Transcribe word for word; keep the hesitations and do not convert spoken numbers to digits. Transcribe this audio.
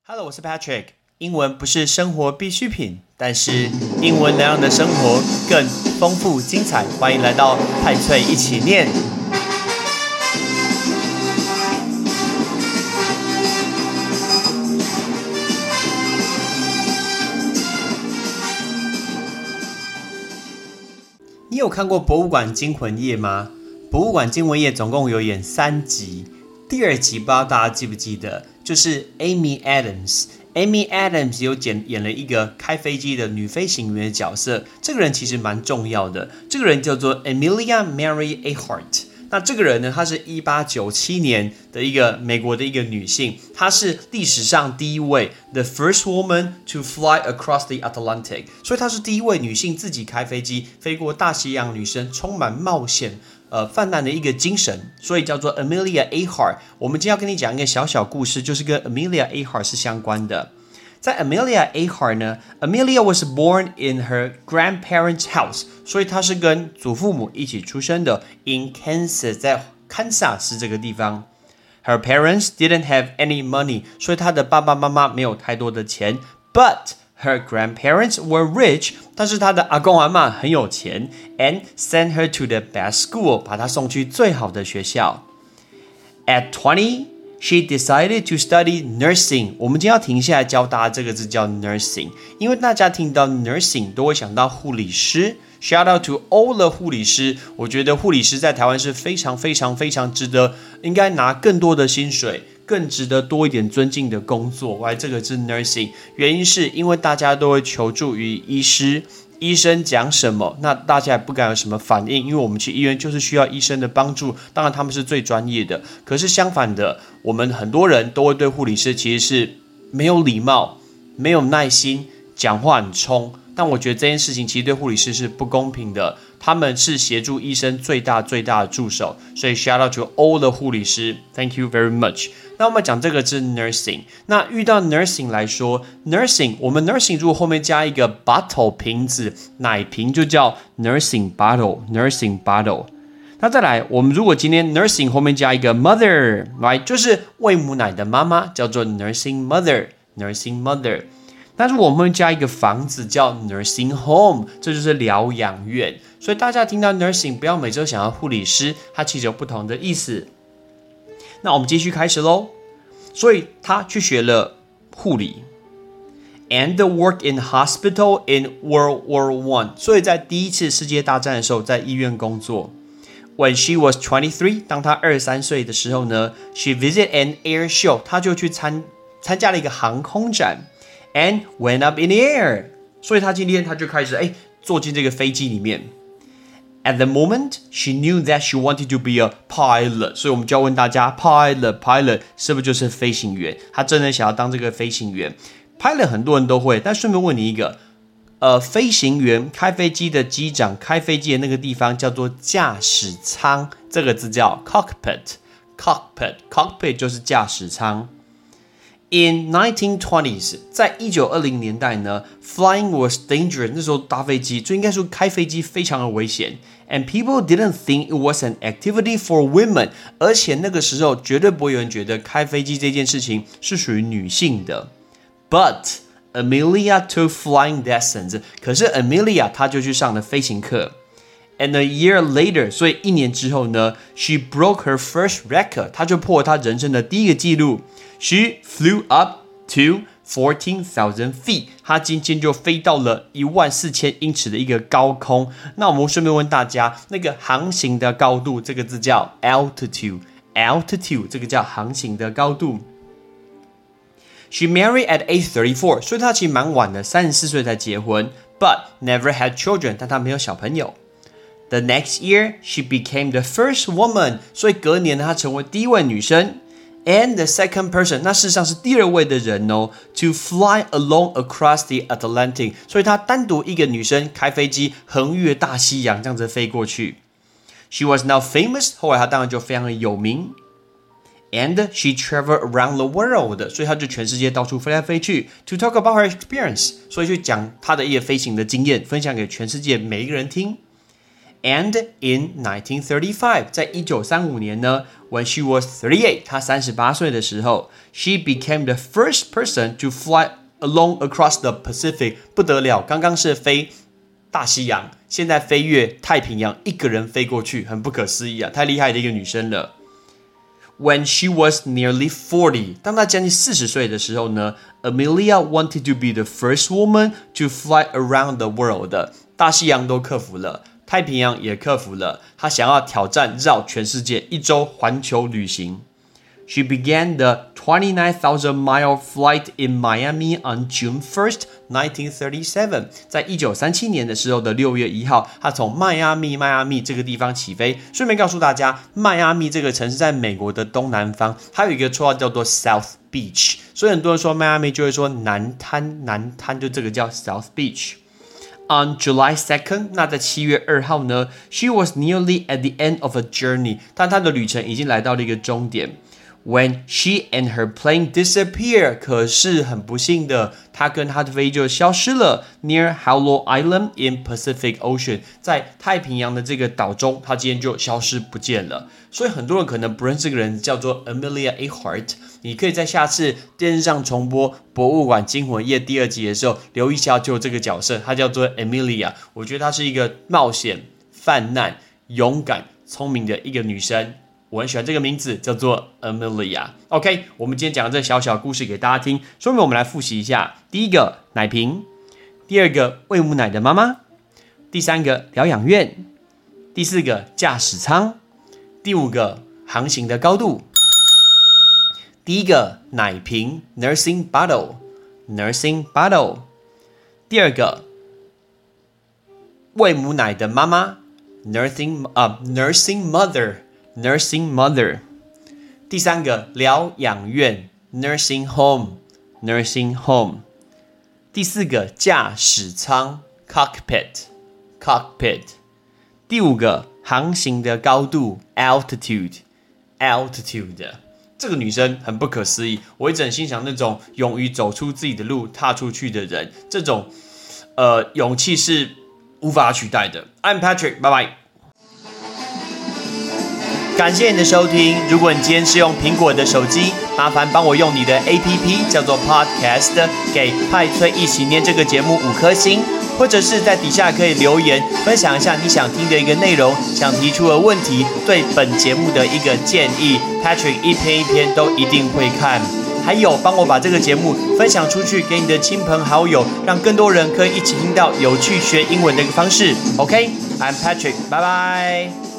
Hello， 我是 Patrick。英文不是生活必需品，但是英文能让你的生活更丰富精彩。欢迎来到派翠一起念。你有看过《博物馆惊魂夜》吗？《博物馆惊魂夜》总共有演三集，第二集不知道大家记不记得，就是 Amy Adams。Amy Adams 有演演了一个开飞机的女飞行员的角色，这个人其实蛮重要的。这个人叫做 Amelia Mary Earhart。那这个人呢，她是一八九七年的一个美国的一个女性，她是历史上第一位 the first woman to fly across the Atlantic， 所以她是第一位女性自己开飞机飞过大西洋女生，充满冒险呃泛滥的一个精神，所以叫做 Amelia Earhart。我们今天要跟你讲一个小小故事，就是跟 Amelia Earhart 是相关的。在 Amelia Earhart 呢 ，Amelia was born in her grandparents' house， 所以她是跟祖父母一起出生的 in Kansas， 在堪萨斯这个地方。Her parents didn't have any money， 所以她的爸爸妈妈没有太多的钱 ，but her grandparents were rich， 但是她的阿公阿嬷很有钱 ，and sent her to the best school， 把她送去最好的学校。At twenty。She decided to study nursing. 我们今天要停下来教大家这个字叫 nursing， 因为大家听到 nursing 都会想到护理师。Shout out to all the 护理师，我觉得护理师在台湾是非常非常非常值得，应该拿更多的薪水，更值得多一点尊敬的工作。Why 这个是 nursing？ 原因是因为大家都会求助于医师。医生讲什么，那大家也不敢有什么反应，因为我们去医院就是需要医生的帮助，当然他们是最专业的。可是相反的，我们很多人都会对护理师其实是没有礼貌、没有耐心，讲话很冲。但我觉得这件事情其实对护理师是不公平的，他们是协助医生最大最大的助手，所以 shout out to all 的护理师 ，thank you very much。那我们讲这个是 nursing， 那遇到 nursing 来说 ，nursing 我们 nursing 如果后面加一个 bottle 瓶子，奶瓶就叫 nursing bottle，nursing bottle。那再来，我们如果今天 nursing 后面加一个 mother，right， 就是喂母奶的妈妈，叫做 nursing mother，nursing mother。那如果我们加一个房子叫 nursing home， 这就是疗养院。所以大家听到 nursing 不要每周想要护理师，它其实有不同的意思。那我们继续开始咯。所以他去学了护理 and work in hospital in World War One， 所以在第一次世界大战的时候在医院工作。When she was twenty-three， 当她二十三岁的时候呢 she visited an air show， 她就去参参加了一个航空展and went up in the air， 所以她今天她就开始哎坐进这个飞机里面。At the moment, she knew that she wanted to be a pilot， 所以我们就要问大家 pilot pilot 是不是就是飞行员？她真的想要当这个飞行员。pilot 很多人都会，但顺便问你一个，呃，飞行员开飞机的机长开飞机的那个地方叫做驾驶舱，这个字叫 cockpit cockpit cockpit 就是驾驶舱。In nineteen twenties， 在一九二零年代呢 ，flying was dangerous， 那时候搭飞机，就应该说开飞机非常的危险。And people didn't think it was an activity for women， 而且那个时候绝对不会有人觉得开飞机这件事情是属于女性的。But Amelia took flying lessons， 可是 Amelia 她就去上了飞行课。And a year later， 所以一年之后呢 ，she broke her first record， 她就破了她人生的第一个纪录。She flew up to fourteen thousand feet， 她今天就飞到了一万四千英尺的一个高空。那我们顺便问大家，那个航行的高度，这个字叫 altitude，altitude 这个叫航行的高度。She married at age thirty-four， 所以她其实蛮晚的，三十四岁才结婚 ，but never had children， 但她没有小朋友。The next year, she became the first woman， 所以隔年她成为第一位女生。And the second person， 那事实上是第二位的人哦 ，to fly alone across the Atlantic， 所以她单独一个女生开飞机横越大西洋，这样子飞过去。She was now famous， 后来她当然就非常的有名。And she traveled around the world， 所以她就全世界到处飞来飞去。To talk about her experience， 所以去讲她的一个飞行的经验，分享给全世界每一个人听。 And in nineteen thirty-five, 在一九三五年呢 when she was thirty-eight, 她三十八岁的时候 she became the first person to fly along across the Pacific. 不得了，刚刚是飞大西洋，现在飞越太平洋，一个人飞过去，很不可思议啊，太厉害的一个女生了。When she was nearly forty, 当她将近四十岁的时候呢 Amelia wanted to be the first woman to fly around the world. 大西洋都克服了，太平洋也克服了，她想要挑战绕全世界一周环球旅行。She began the twenty-nine thousand mile flight in Miami on June first, nineteen thirty-seven. 在一九三七年的时候的六月一号，她从迈阿密迈阿密这个地方起飞。顺便告诉大家，迈阿密这个城市在美国的东南方，它有一个绰号叫做 South Beach， 所以很多人说迈阿密就会说南滩，南滩就这个叫 South Beach。On July second, 那在七月二号呢 she was nearly at the end of a journey. 但她的旅程已经来到了一个终点。When she and her plane disappear, 可是很不幸的，她跟她的飞机就消失了 near Howell Island in Pacific Ocean. 在太平洋的这个岛中，她今天就消失不见了。所以很多人可能不认识这个人，叫做 Amelia Earhart。你可以在下次电视上重播《博物馆惊魂夜》第二集的时候，留意一下就有这个角色，她叫做 Amelia。我觉得她是一个冒险、犯难、勇敢、聪明的一个女生。我很喜欢这个名字，叫做 Amelia。OK， 我们今天讲的这小小故事给大家听，说明我们来复习一下：第一个奶瓶，第二个喂母奶的妈妈，第三个疗养院，第四个驾驶舱，第五个航行的高度。第一个奶瓶 nursing bottle nursing bottle， 第二个喂母奶的妈妈 nursing uh, nursing mother nursing mother， 第三个疗养院 nursing home nursing home， 第四个驾驶舱 cockpit cockpit， 第五个航行的高度 altitude altitude。这个女生很不可思议，我一直很欣赏那种勇于走出自己的路踏出去的人，这种呃勇气是无法取代的。 I'm Patrick， 拜拜。感谢你的收听，如果你今天是用苹果的手机，麻烦帮我用你的 A P P 叫做 Podcast 给派翠一起念这个节目五颗星，或者是在底下可以留言分享一下你想听的一个内容，想提出的问题，对本节目的一个建议， Patrick 一篇一篇都一定会看。还有帮我把这个节目分享出去给你的亲朋好友，让更多人可以一起听到有趣学英文的一个方式。 OK， I'm Patrick， 拜拜。